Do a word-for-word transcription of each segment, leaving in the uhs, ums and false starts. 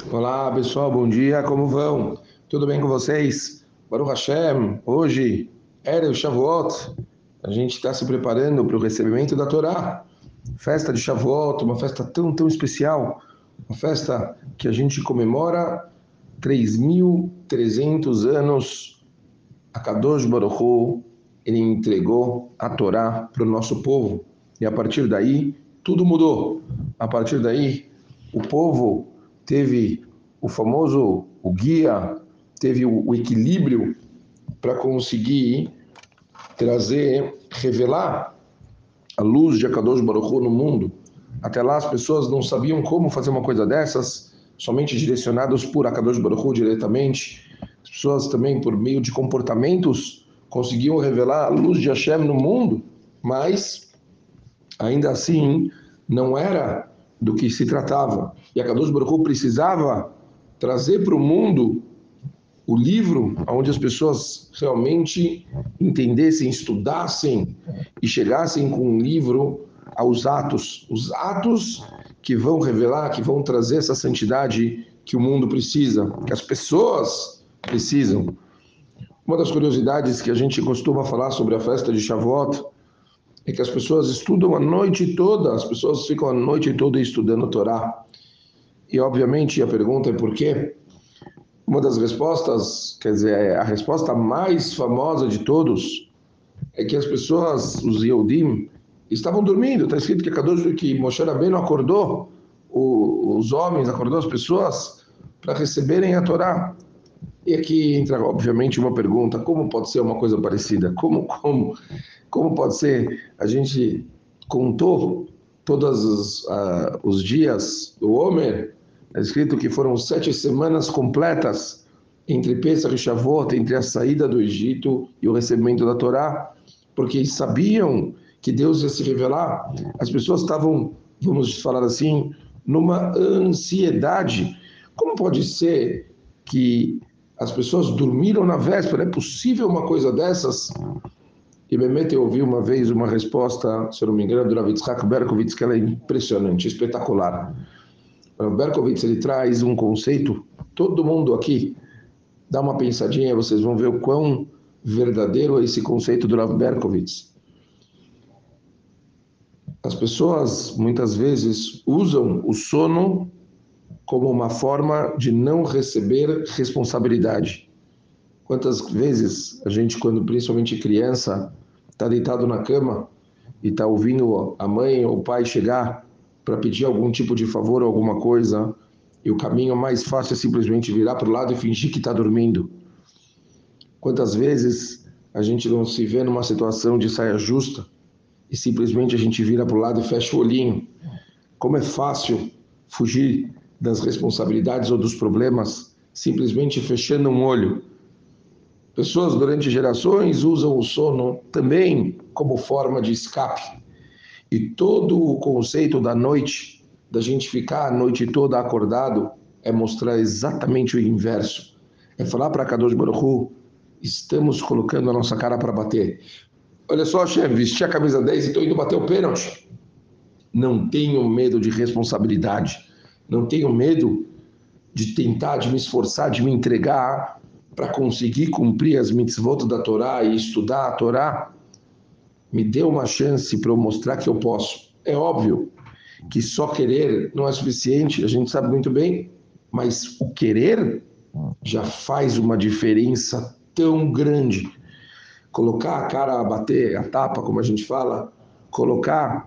Olá pessoal, bom dia, como vão? Tudo bem com vocês? Baruch Hashem, hoje, Erev Shavuot, a gente está se preparando para o recebimento da Torá. Festa de Shavuot, uma festa tão, tão especial, uma festa que a gente comemora três mil e trezentos anos. A Kadosh Baruch Hu, ele entregou a Torá para o nosso povo. E a partir daí, tudo mudou. A partir daí, o povo teve o famoso o guia, teve o, o equilíbrio para conseguir trazer, revelar a luz de Akadosh Baruch Hu no mundo. Até lá as pessoas não sabiam como fazer uma coisa dessas, somente direcionadas por Akadosh Baruch Hu diretamente. As pessoas também, por meio de comportamentos, conseguiam revelar a luz de Hashem no mundo, mas ainda assim não era do que se tratava. E Akadosh Baruch Hu precisava trazer para o mundo o livro onde as pessoas realmente entendessem, estudassem e chegassem com um livro aos atos, os atos que vão revelar, que vão trazer essa santidade que o mundo precisa, que as pessoas precisam. Uma das curiosidades que a gente costuma falar sobre a festa de Shavuot é que as pessoas estudam a noite toda, as pessoas ficam a noite toda estudando a Torá. E obviamente a pergunta é por quê? Uma das respostas, quer dizer, a resposta mais famosa de todos é que as pessoas, os Yehudim, estavam dormindo. Está escrito que Kadosh, que Moshe Rabbeinu acordou o, os homens, acordou as pessoas para receberem a Torá. E aqui entra, obviamente, uma pergunta: como pode ser uma coisa parecida? Como, como, como pode ser? A gente contou todos os, uh, os dias do Homer. É escrito que foram sete semanas completas entre Pesach e Shavuot, entre a saída do Egito e o recebimento da Torá, porque eles sabiam que Deus ia se revelar. As pessoas estavam, vamos falar assim, numa ansiedade. Como pode ser que as pessoas dormiram na véspera? É possível uma coisa dessas? E Bemet, eu ouvi uma vez uma resposta, se eu não me engano, do Rav Yitzhak Berkovitz, que ela é impressionante, espetacular. O Berkovitz, ele traz um conceito, todo mundo aqui dá uma pensadinha, vocês vão ver o quão verdadeiro é esse conceito do Rav Berkovitz. As pessoas, muitas vezes, usam o sono como uma forma de não receber responsabilidade. Quantas vezes a gente, quando principalmente criança, está deitado na cama e está ouvindo a mãe ou o pai chegar para pedir algum tipo de favor ou alguma coisa, e o caminho mais fácil é simplesmente virar para o lado e fingir que está dormindo. Quantas vezes a gente não se vê numa situação de saia justa e simplesmente a gente vira para o lado e fecha o olhinho? Como é fácil fugir das responsabilidades ou dos problemas simplesmente fechando um olho. Pessoas durante gerações usam o sono também como forma de escape. E todo o conceito da noite, da gente ficar a noite toda acordado, é mostrar exatamente o inverso. É falar para Kadosh Baruch Hu: estamos colocando a nossa cara para bater. Olha só, chefe, vesti a camisa dez e estou indo bater o pênalti. Não tenho medo de responsabilidade. Não tenho medo de tentar, de me esforçar, de me entregar para conseguir cumprir as mitzvot da Torá e estudar a Torá. Me dê uma chance para eu mostrar que eu posso. É óbvio que só querer não é suficiente, a gente sabe muito bem, mas o querer já faz uma diferença tão grande. Colocar a cara a bater, a tapa, como a gente fala, colocar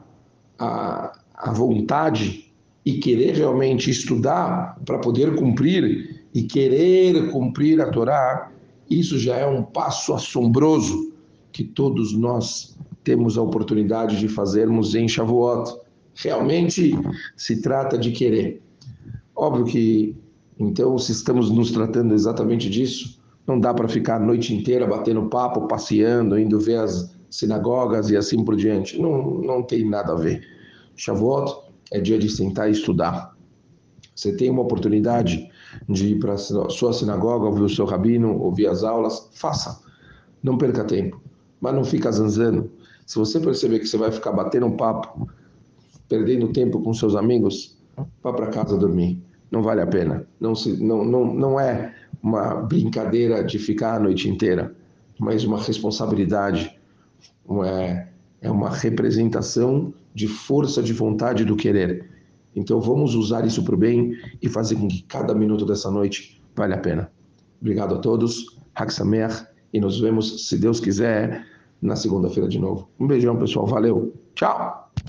a, a vontade e querer realmente estudar para poder cumprir e querer cumprir a Torá, isso já é um passo assombroso que todos nós temos a oportunidade de fazermos em Shavuot. Realmente se trata de querer. Óbvio que, então, se estamos nos tratando exatamente disso, não dá para ficar a noite inteira batendo papo, passeando, indo ver as sinagogas e assim por diante. Não, não tem nada a ver. Shavuot é dia de sentar e estudar. Você tem uma oportunidade de ir para a sua sinagoga, ouvir o seu rabino, ouvir as aulas, faça. Não perca tempo, mas não fica zanzando. Se você perceber que você vai ficar batendo um papo, perdendo tempo com seus amigos, vá para casa dormir. não vale a pena. Não, se, não, não, não é uma brincadeira de ficar a noite inteira, mas uma responsabilidade, é, é uma representação de força de vontade do querer. Então vamos usar isso para o bem e fazer com que cada minuto dessa noite vale a pena. Obrigado a todos, Hag Sameach, e nos vemos, se Deus quiser, na segunda-feira de novo. Um beijão, pessoal. Valeu. Tchau!